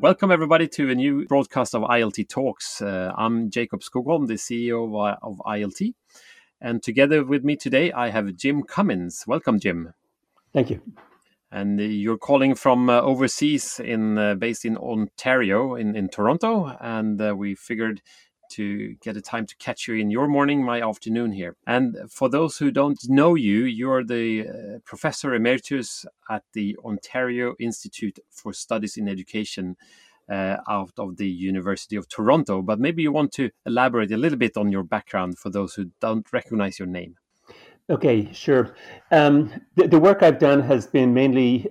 Welcome, everybody, to a new broadcast of ILT Talks. I'm Jacob Skogholm, the CEO of ILT. And together with me today, I have Jim Cummins. Welcome, Jim. Thank you. And you're calling from overseas, based in Ontario, in Toronto. And we figured to get a time to catch you in your morning, my afternoon here. And for those who don't know you, you're the Professor Emeritus at the Ontario Institute for Studies in Education out of the University of Toronto. But maybe you want to elaborate a little bit on your background for those who don't recognize your name. Okay, sure. The work I've done has been mainly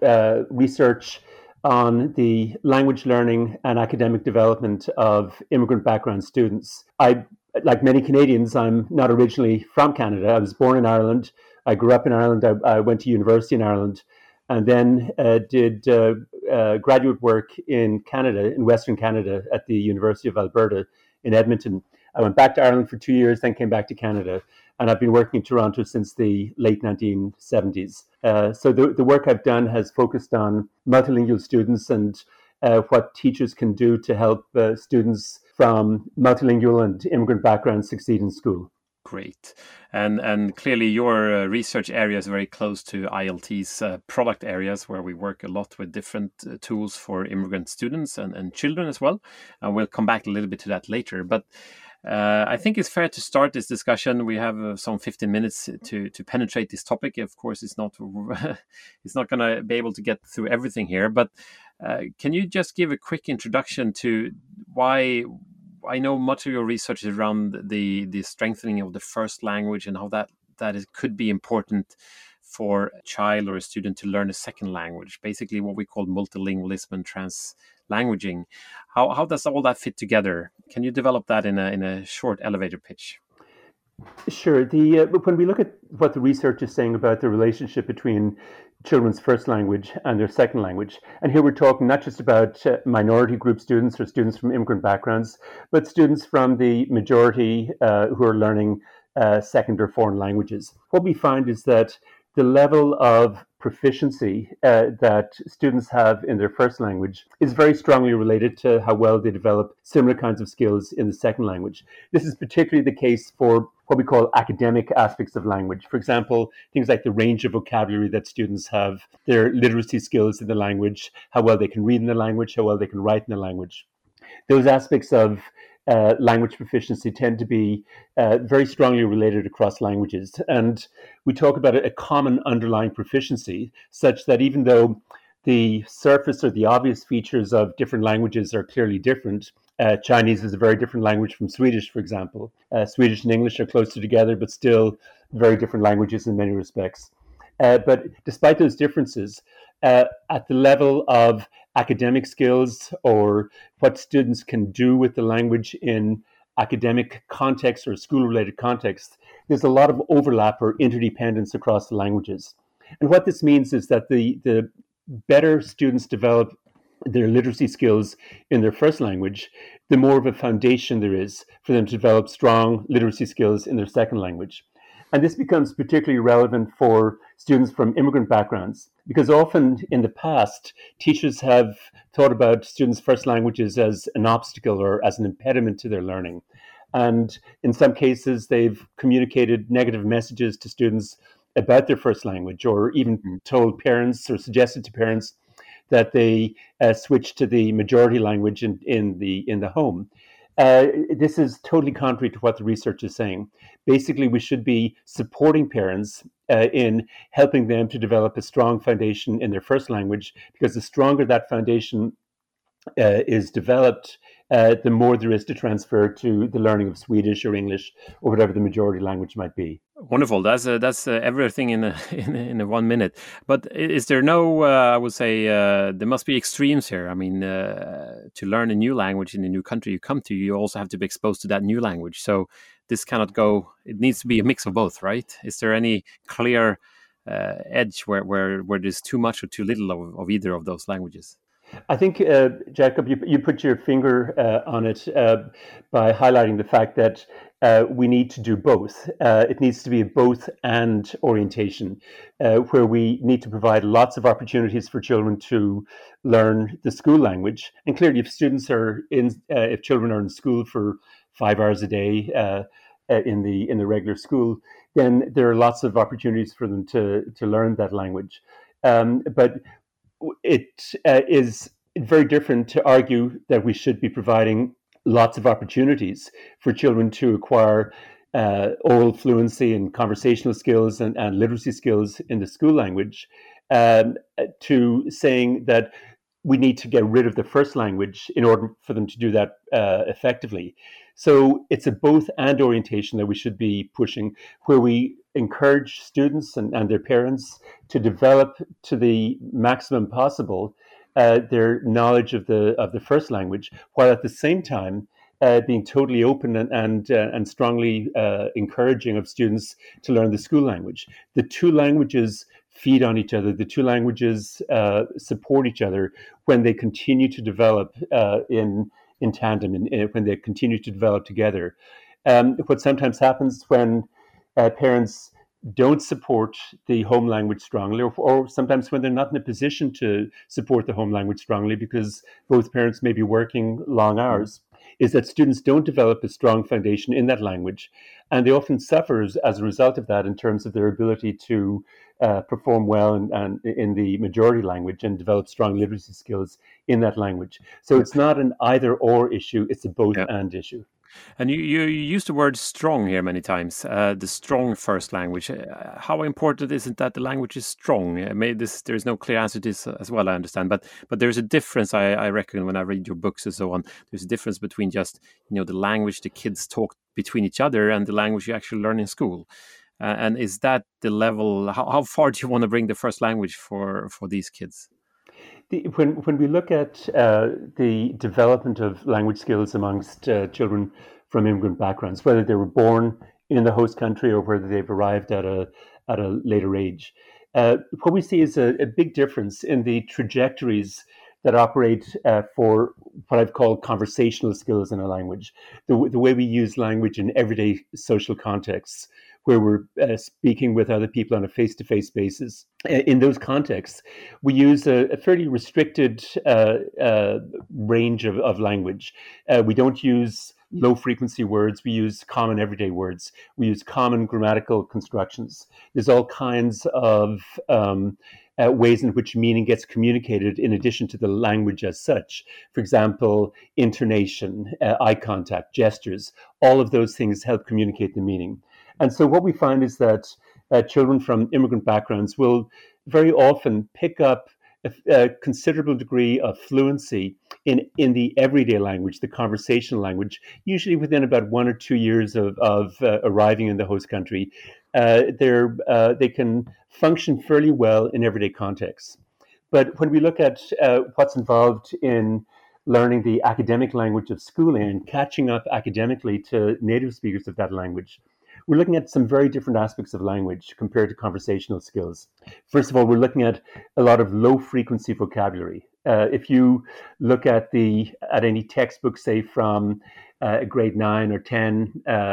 research on the language learning and academic development of immigrant background students. Like many Canadians, I'm not originally from Canada. I was born in Ireland. I grew up in Ireland. I went to university in Ireland, and then did graduate work in Canada, in Western Canada, at the University of Alberta in Edmonton. I went back to Ireland for 2 years, then came back to Canada. And I've been working in Toronto since the late 1970s. So the work I've done has focused on multilingual students and what teachers can do to help students from multilingual and immigrant backgrounds succeed in school. Great. And clearly your research area is very close to ILT's product areas, where we work a lot with different tools for immigrant students and children as well. And we'll come back a little bit to that later. But I think it's fair to start this discussion. We have some 15 minutes to penetrate this topic. Of course, it's not going to be able to get through everything here. But can you just give a quick introduction to why? I know much of your research is around the strengthening of the first language and how that could be important for a child or a student to learn a second language, basically what we call multilingualism and translanguaging. How does all that fit together? Can you develop that in a short elevator pitch? Sure. When we look at what the research is saying about the relationship between children's first language and their second language, and here we're talking not just about minority group students or students from immigrant backgrounds, but students from the majority who are learning second or foreign languages. What we find is that the level of proficiency that students have in their first language is very strongly related to how well they develop similar kinds of skills in the second language. This is particularly the case for what we call academic aspects of language. For example, things like the range of vocabulary that students have, their literacy skills in the language, how well they can read in the language, how well they can write in the language. Those aspects of language proficiency tend to be very strongly related across languages. And we talk about a common underlying proficiency, such that even though the surface or the obvious features of different languages are clearly different, Chinese is a very different language from Swedish, for example. Swedish and English are closer together, but still very different languages in many respects. But despite those differences, at the level of academic skills or what students can do with the language in academic context or school-related context, there's a lot of overlap or interdependence across the languages. And what this means is that the better students develop their literacy skills in their first language, the more of a foundation there is for them to develop strong literacy skills in their second language. And this becomes particularly relevant for students from immigrant backgrounds, because often in the past, teachers have thought about students' first languages as an obstacle or as an impediment to their learning. And in some cases, they've communicated negative messages to students about their first language, or even told parents or suggested to parents that they switch to the majority language in the home. This is totally contrary to what the research is saying. Basically, we should be supporting parents in helping them to develop a strong foundation in their first language, because the stronger that foundation is developed, the more there is to transfer to the learning of Swedish or English or whatever the majority language might be. Wonderful. That's everything in a 1 minute. But is there no? I would say there must be extremes here. I mean, to learn a new language in a new country you come to, you also have to be exposed to that new language. So this cannot go. It needs to be a mix of both, right? Is there any clear edge where there's too much or too little of either of those languages? I think, Jacob, you put your finger on it by highlighting the fact that we need to do both. It needs to be a both and orientation, where we need to provide lots of opportunities for children to learn the school language. And clearly, if children are in school for 5 hours a day in the regular school, then there are lots of opportunities for them to learn that language. But it is very different to argue that we should be providing lots of opportunities for children to acquire oral fluency and conversational skills and literacy skills in the school language, um, to saying that we need to get rid of the first language in order for them to do that effectively. So it's a both and orientation that we should be pushing, where we encourage students and their parents to develop to the maximum possible their knowledge of the first language, while at the same time being totally open and strongly encouraging of students to learn the school language. The two languages feed on each other. The two languages support each other when they continue to develop in tandem, and when they continue to develop together. What sometimes happens when parents don't support the home language strongly, or sometimes when they're not in a position to support the home language strongly because both parents may be working long hours, is that students don't develop a strong foundation in that language. And they often suffer as a result of that in terms of their ability to perform well and in the majority language and develop strong literacy skills in that language. So it's not an either or issue, it's a both Yeah. and issue. And you use the word strong here many times, the strong first language. How important is it that the language is strong? There's no clear answer to this as well, I understand. But there's a difference, I reckon, when I read your books and so on. There's a difference between just, the language the kids talk between each other and the language you actually learn in school. And is that the level? How far do you want to bring the first language for these kids? When we look at the development of language skills amongst children from immigrant backgrounds, whether they were born in the host country or whether they've arrived at a later age, what we see is a big difference in the trajectories that operate for what I've called conversational skills in a language, the way we use language in everyday social contexts, where we're speaking with other people on a face-to-face basis. In those contexts, we use a fairly restricted range of language. We don't use low-frequency words. We use common everyday words. We use common grammatical constructions. There's all kinds of ways in which meaning gets communicated in addition to the language as such. For example, intonation, eye contact, gestures, all of those things help communicate the meaning. And so what we find is that children from immigrant backgrounds will very often pick up a considerable degree of fluency in the everyday language, the conversational language, usually within about 1 or 2 years of arriving in the host country. They can function fairly well in everyday contexts. But when we look at what's involved in learning the academic language of schooling and catching up academically to native speakers of that language, we're looking at some very different aspects of language compared to conversational skills. First of all, we're looking at a lot of low frequency vocabulary. If you look at any textbook, say from grade 9 or 10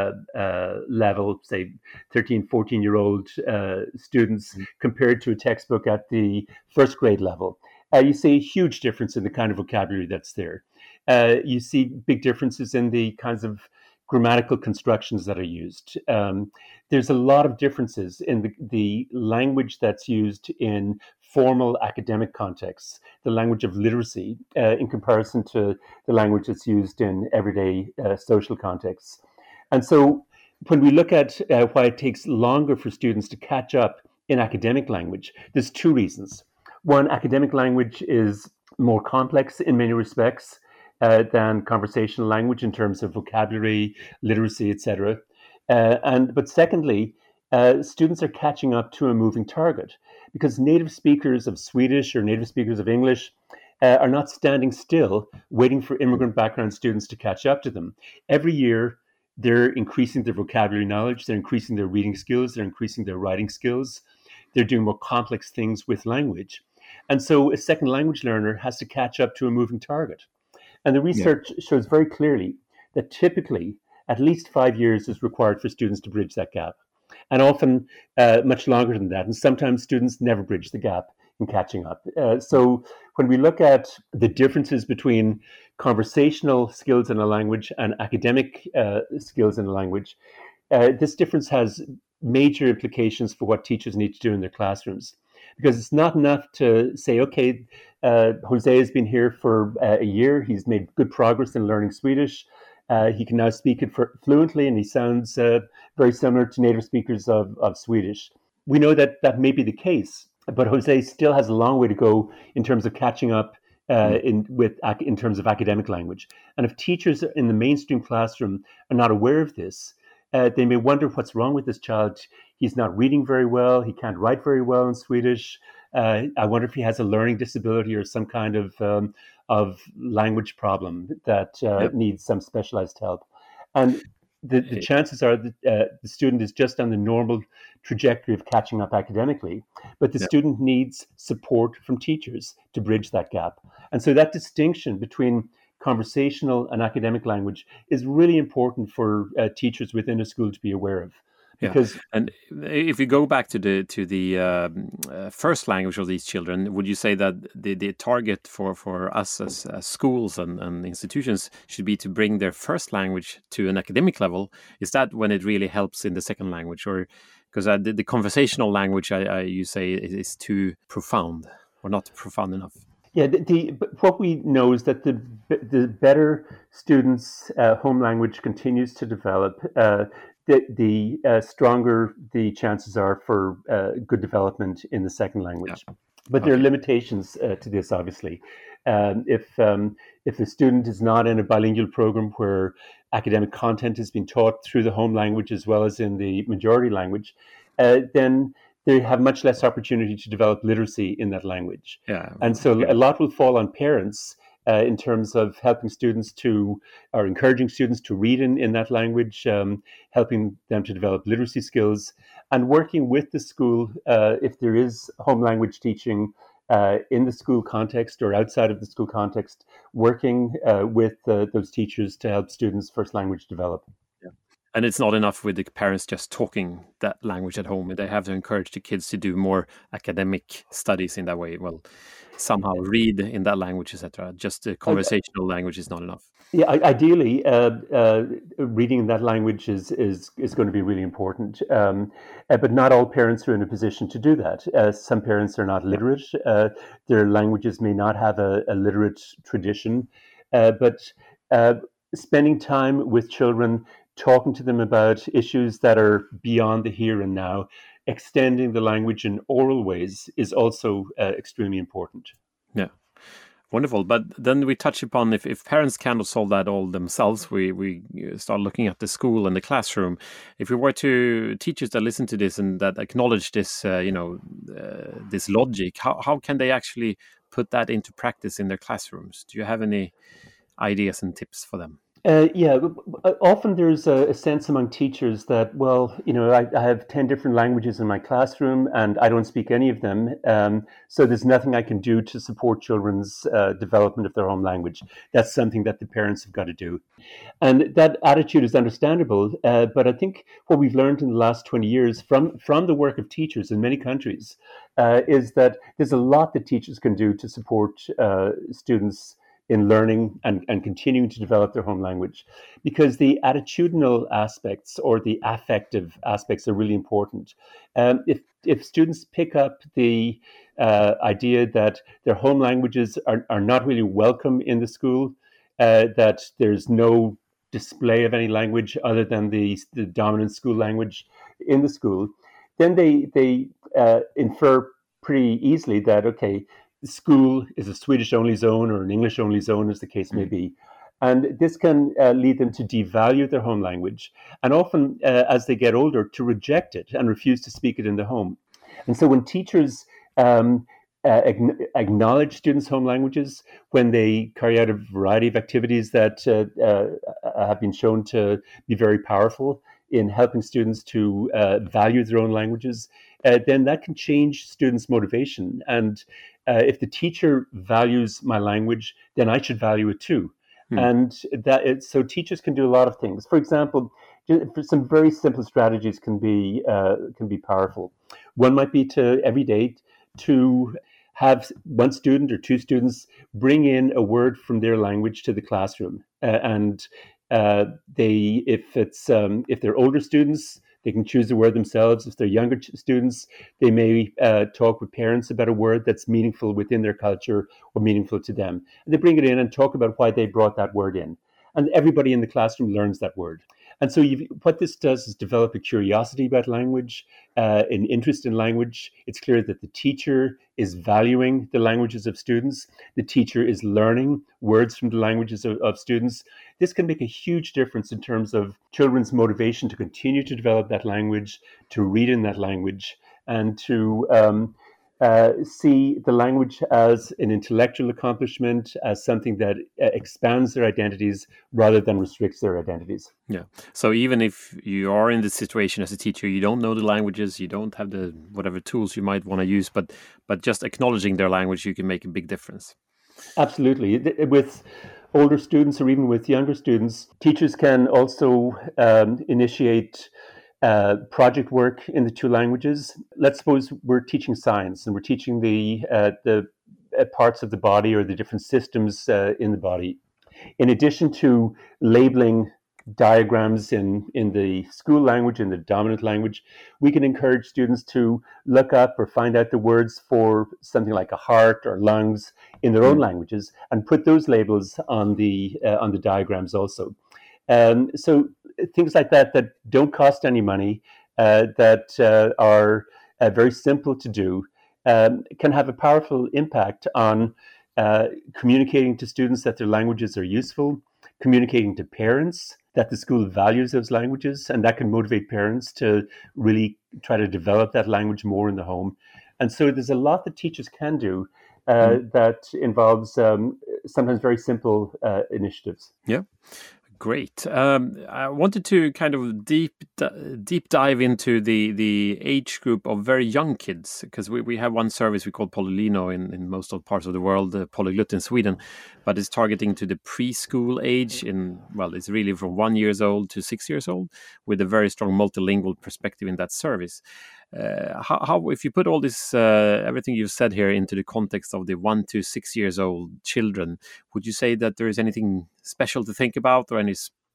level, say 13, 14-year-old students, compared to a textbook at the first grade level, you see a huge difference in the kind of vocabulary that's there. You see big differences in the kinds of grammatical constructions that are used. There's a lot of differences in the language that's used in formal academic contexts, the language of literacy, in comparison to the language that's used in everyday social contexts. And so when we look at why it takes longer for students to catch up in academic language, there's two reasons. One, academic language is more complex in many respects than conversational language in terms of vocabulary, literacy, etc. But secondly, students are catching up to a moving target because native speakers of Swedish or native speakers of English are not standing still waiting for immigrant background students to catch up to them. Every year, they're increasing their vocabulary knowledge, they're increasing their reading skills, they're increasing their writing skills, they're doing more complex things with language. And so a second language learner has to catch up to a moving target. And the Yeah. research shows very clearly that typically at least 5 years is required for students to bridge that gap, and often much longer than that. And sometimes students never bridge the gap in catching up. So when we look at the differences between conversational skills in a language and academic skills in a language, this difference has major implications for what teachers need to do in their classrooms. Because it's not enough to say, okay, Jose has been here for a year. He's made good progress in learning Swedish. He can now speak it fluently, and he sounds very similar to native speakers of Swedish. We know that that may be the case, but Jose still has a long way to go in terms of catching up in terms of academic language. And if teachers in the mainstream classroom are not aware of this, they may wonder what's wrong with this child. He's not reading very well. He can't write very well in Swedish. I wonder if he has a learning disability or some kind of language problem that Yep. needs some specialized help. And the chances are that the student is just on the normal trajectory of catching up academically, but the Yep. student needs support from teachers to bridge that gap. And so that distinction between conversational and academic language is really important for teachers within a school to be aware of. Yeah, Because and if you go back to the first language of these children, would you say that the target for us as schools and institutions should be to bring their first language to an academic level? Is that when it really helps in the second language, or because the conversational language, you say is too profound or not profound enough? yeah, what we know is that the better students' home language continues to develop, the stronger the chances are for good development in the second language. Yeah. But there are Okay. limitations to this, obviously. If the student is not in a bilingual program where academic content is being taught through the home language as well as in the majority language, then they have much less opportunity to develop literacy in that language. Yeah. And so Yeah. a lot will fall on parents in terms of helping students or encouraging students to read in that language, helping them to develop literacy skills, and working with the school if there is home language teaching in the school context or outside of the school context, working with those teachers to help students' first language develop. And it's not enough with the parents just talking that language at home. They have to encourage the kids to do more academic studies in that way. Well, somehow read in that language, etc. Just the conversational language is not enough. Yeah, ideally, reading in that language is going to be really important. But not all parents are in a position to do that. Some parents are not Yeah. literate. Their languages may not have a literate tradition. But spending time with children, talking to them about issues that are beyond the here and now, extending the language in oral ways is also extremely important. Yeah. Wonderful. But then we touch upon if parents cannot solve that all themselves, we start looking at the school and the classroom. If we were to teachers that listen to this and that acknowledge this, this logic, how can they actually put that into practice in their classrooms? Do you have any ideas and tips for them? Yeah, often there's a sense among teachers that, well, I have 10 different languages in my classroom and I don't speak any of them. So there's nothing I can do to support children's development of their home language. That's something that the parents have got to do. And that attitude is understandable. But I think what we've learned in the last 20 years from the work of teachers in many countries is that there's a lot that teachers can do to support students in learning and continuing to develop their home language, because the attitudinal aspects or the affective aspects are really important. If students pick up the idea that their home languages are not really welcome in the school, that there's no display of any language other than the dominant school language in the school, then they infer pretty easily that, okay, school is a Swedish-only zone or an English-only zone, as the case may be. And this can lead them to devalue their home language, and often, as they get older, to reject it and refuse to speak it in the home. And so when teachers acknowledge students' home languages, when they carry out a variety of activities that have been shown to be very powerful in helping students to value their own languages, then that can change students' motivation. And if the teacher values my language, then I should value it too. Hmm. And so teachers can do a lot of things. For example, some very simple strategies can be powerful. One might be to every day to have one student or two students bring in a word from their language to the classroom, and if they're older students, they can choose the word themselves. If they're younger students, they may talk with parents about a word that's meaningful within their culture or meaningful to them. And they bring it in and talk about why they brought that word in. And everybody in the classroom learns that word. And so what this does is develop a curiosity about language, an interest in language. It's clear that the teacher is valuing the languages of students. The teacher is learning words from the languages of students. This can make a huge difference in terms of children's motivation to continue to develop that language, to read in that language, and to see the language as an intellectual accomplishment, as something that expands their identities rather than restricts their identities. Yeah. So even if you are in this situation as a teacher, you don't know the languages, you don't have the whatever tools you might want to use, but just acknowledging their language, you can make a big difference. Absolutely. With older students or even with younger students, teachers can also initiate project work in the two languages. Let's suppose we're teaching science and we're teaching the parts of the body or the different systems in the body. In addition to labeling diagrams in the school language, in the dominant language, we can encourage students to look up or find out the words for something like a heart or lungs in their own languages and put those labels on the diagrams also. So things like that don't cost any money, that are very simple to do, can have a powerful impact on communicating to students that their languages are useful, communicating to parents that the school values those languages, and that can motivate parents to really try to develop that language more in the home. And so there's a lot that teachers can do that involves sometimes very simple initiatives. Yeah. Great. I wanted to kind of deep dive into the age group of very young kids, because we have one service we call Polylino in most of parts of the world, Polyglut in Sweden, but it's targeting to the preschool age. It's really from 1 year old to 6 years old, with a very strong multilingual perspective in that service. How if you put all this everything you've said here into the context of the 1 to 6 years old children, would you say that there is anything special to think about, or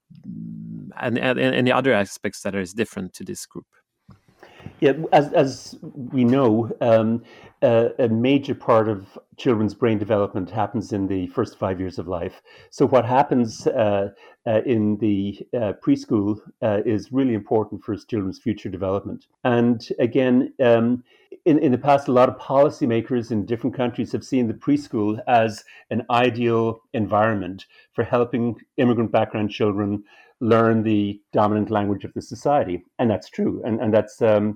any other aspects that is different to this group? Yeah, as we know, a major part of children's brain development happens in the first 5 years of life. So what happens in the preschool is really important for children's future development. And again, in the past, a lot of policymakers in different countries have seen the preschool as an ideal environment for helping immigrant background children learn the dominant language of the society. And that's true. And that's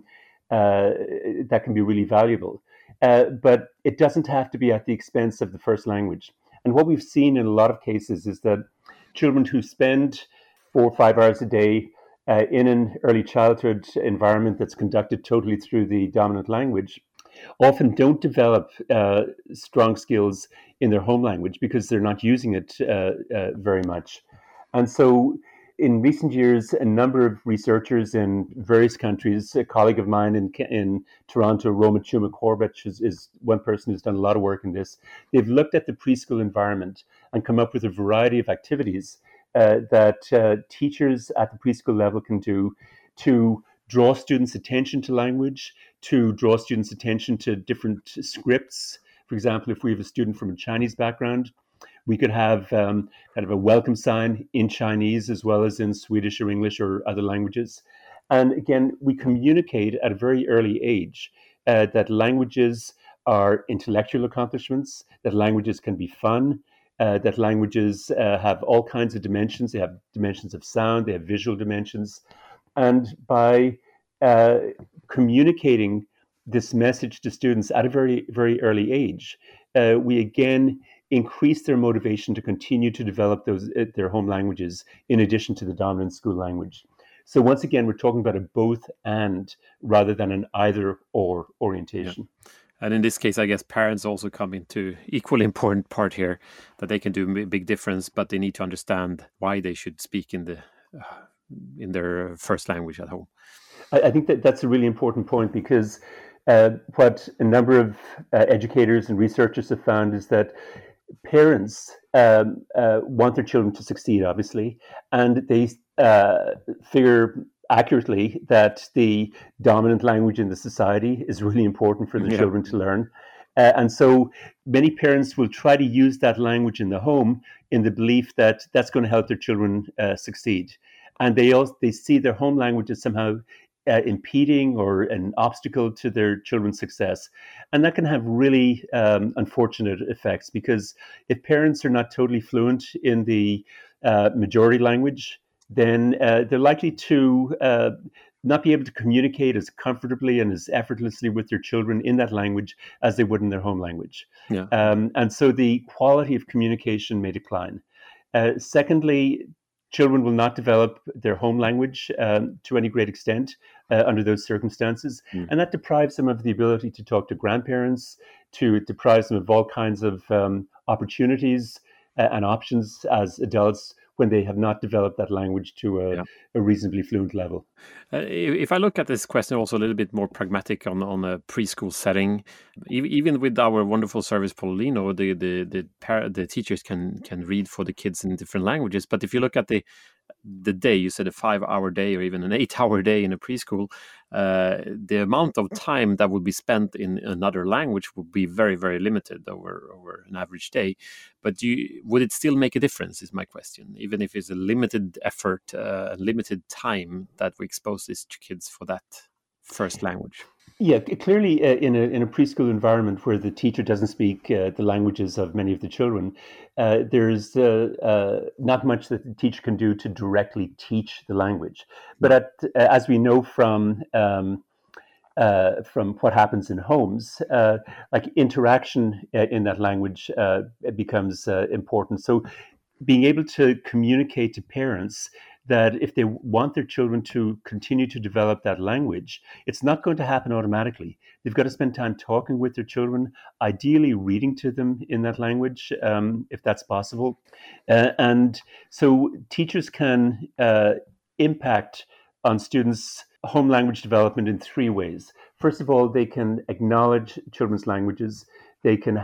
that can be really valuable. But it doesn't have to be at the expense of the first language. And what we've seen in a lot of cases is that children who spend 4 or 5 hours a day in an early childhood environment that's conducted totally through the dominant language often don't develop strong skills in their home language because they're not using it very much. And so in recent years, a number of researchers in various countries, a colleague of mine in Toronto, Roma Chuma Corbett, is one person who's done a lot of work in this. They've looked at the preschool environment and come up with a variety of activities that teachers at the preschool level can do to draw students' attention to language, to draw students' attention to different scripts. For example, if we have a student from a Chinese background, we could have kind of a welcome sign in Chinese as well as in Swedish or English or other languages. And again, we communicate at a very early age that languages are intellectual accomplishments, that languages can be fun, that languages have all kinds of dimensions. They have dimensions of sound, they have visual dimensions. And by communicating this message to students at a very, very early age, we again increase their motivation to continue to develop their home languages in addition to the dominant school language. So once again, we're talking about a both and rather than an either or orientation. Yeah. And in this case, I guess parents also come into equally important part here, that they can do a big difference, but they need to understand why they should speak in their first language at home. I think that that's a really important point, because what a number of educators and researchers have found is that parents want their children to succeed, obviously, and they figure accurately that the dominant language in the society is really important for the Yeah. children to learn. And so many parents will try to use that language in the home in the belief that that's going to help their children succeed. And they see their home language as somehow impeding or an obstacle to their children's success. And that can have really unfortunate effects, because if parents are not totally fluent in the majority language, then they're likely to not be able to communicate as comfortably and as effortlessly with their children in that language as they would in their home language. Yeah. And so the quality of communication may decline. Secondly, children will not develop their home language to any great extent under those circumstances. Mm. And that deprives them of the ability to talk to grandparents, it deprives them of all kinds of opportunities and options as adults when they have not developed that language to a reasonably fluent level. If I look at this question also a little bit more pragmatic on a preschool setting, even with our wonderful service Polino, the teachers can read for the kids in different languages. But if you look at the day, you said a 5-hour day or even an 8-hour day in a preschool, the amount of time that would be spent in another language would be very, very limited over an average day. But would it still make a difference, is my question, even if it's a limited effort, limited time that we expose these kids for that first language? Yeah, clearly, in a preschool environment where the teacher doesn't speak the languages of many of the children, there's not much that the teacher can do to directly teach the language. But as we know from what happens in homes, like interaction in that language becomes important. So being able to communicate to parents that if they want their children to continue to develop that language, it's not going to happen automatically. They've got to spend time talking with their children, ideally reading to them in that language, if that's possible. And so teachers can impact on students' home language development in 3 ways. First of all, they can acknowledge children's languages. They can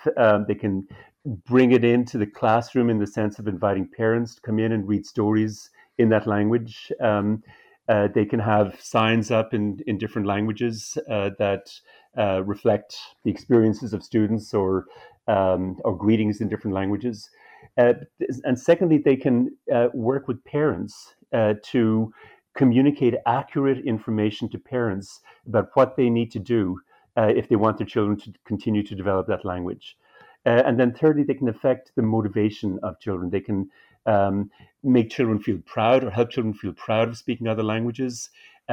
bring it into the classroom in the sense of inviting parents to come in and read stories in that language. They can have signs up in different languages that reflect the experiences of students, or greetings in different languages. And secondly, they can work with parents to communicate accurate information to parents about what they need to do if they want their children to continue to develop that language. And then thirdly, they can affect the motivation of children. They can make children feel proud, or help children feel proud of speaking other languages,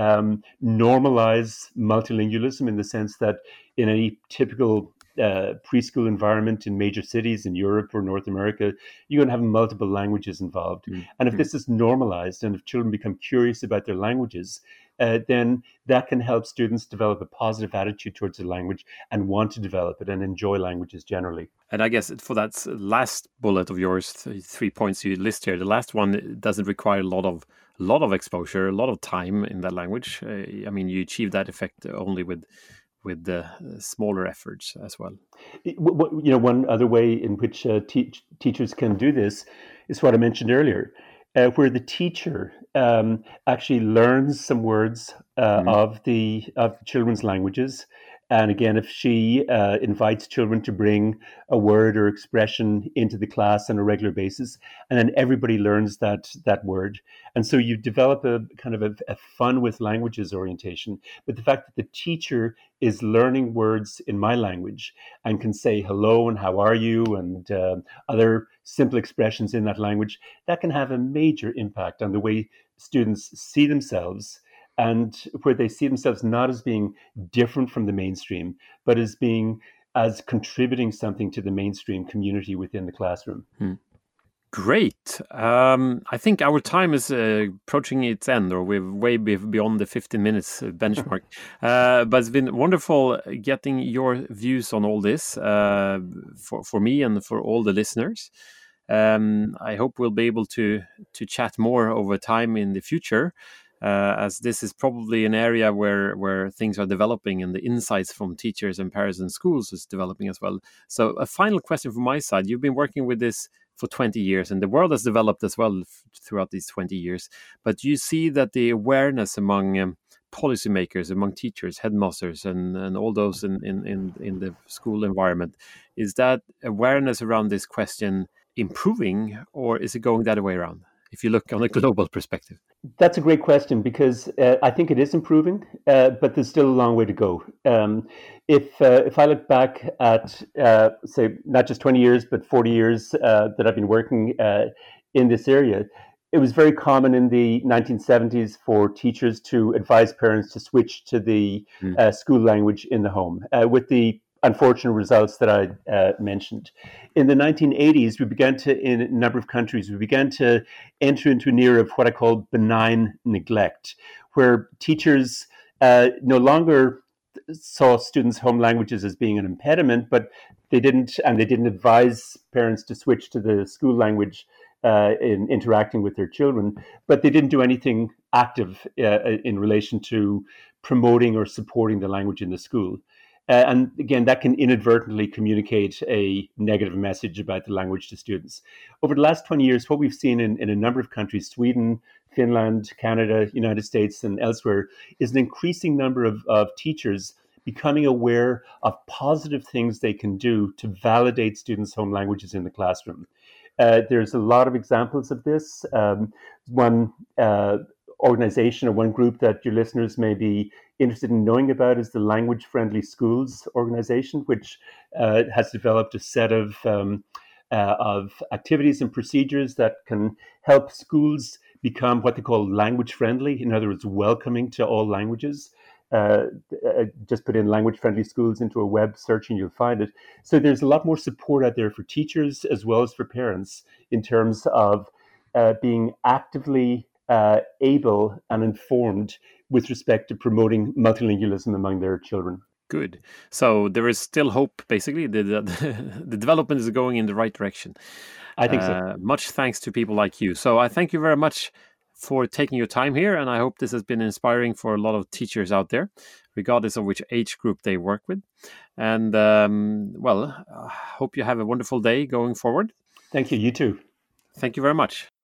normalize multilingualism in the sense that in any typical preschool environment in major cities in Europe or North America, you're going to have multiple languages involved. Mm-hmm. And if this is normalized, and if children become curious about their languages, then that can help students develop a positive attitude towards the language and want to develop it and enjoy languages generally. And I guess for that last bullet of yours, 3 points you list here, the last one doesn't require a lot of exposure, a lot of time in that language. I mean, you achieve that effect only with the smaller efforts as well. One other way in which teachers can do this is what I mentioned earlier, where the teacher actually learns some words of the children's languages. And again, if she invites children to bring a word or expression into the class on a regular basis, and then everybody learns that word. And so you develop a kind of a fun with languages orientation. But the fact that the teacher is learning words in my language and can say hello and how are you and other simple expressions in that language, that can have a major impact on the way students see themselves, and where they see themselves not as being different from the mainstream, but as contributing something to the mainstream community within the classroom. Great. I think our time is approaching its end, or we're way beyond the 15 minutes benchmark. But it's been wonderful getting your views on all this for me and for all the listeners. I hope we'll be able to chat more over time in the future, as this is probably an area where things are developing and the insights from teachers and parents and schools is developing as well. So a final question from my side. You've been working with this for 20 years, and the world has developed as well throughout these 20 years. But you see that the awareness among policymakers, among teachers, headmasters, and all those in the school environment, is that awareness around this question improving, or is it going that way around, if you look on a global perspective? That's a great question, because I think it is improving, but there's still a long way to go. If I look back at, say, not just 20 years, but 40 years that I've been working in this area, it was very common in the 1970s for teachers to advise parents to switch to the school language in the home, with the unfortunate results that I mentioned. In the 1980s, we began to, in a number of countries, we began to enter into an era of what I call benign neglect, where teachers no longer saw students' home languages as being an impediment, but they didn't advise parents to switch to the school language in interacting with their children, but they didn't do anything active in relation to promoting or supporting the language in the school. And again, that can inadvertently communicate a negative message about the language to students. Over the last 20 years, what we've seen in a number of countries, Sweden, Finland, Canada, United States, and elsewhere, is an increasing number of teachers becoming aware of positive things they can do to validate students' home languages in the classroom. There's a lot of examples of this. One organization or one group that your listeners may be interested in knowing about is the Language Friendly Schools organization, which has developed a set of activities and procedures that can help schools become what they call language friendly, in other words, welcoming to all languages. Just put in Language Friendly Schools into a web search and you'll find it. So there's a lot more support out there for teachers as well as for parents in terms of being actively able and informed with respect to promoting multilingualism among their children. Good. So there is still hope, basically. The development is going in the right direction. I think so. Much thanks to people like you. So I thank you very much for taking your time here, and I hope this has been inspiring for a lot of teachers out there, regardless of which age group they work with. And I hope you have a wonderful day going forward. Thank you. You too. Thank you very much.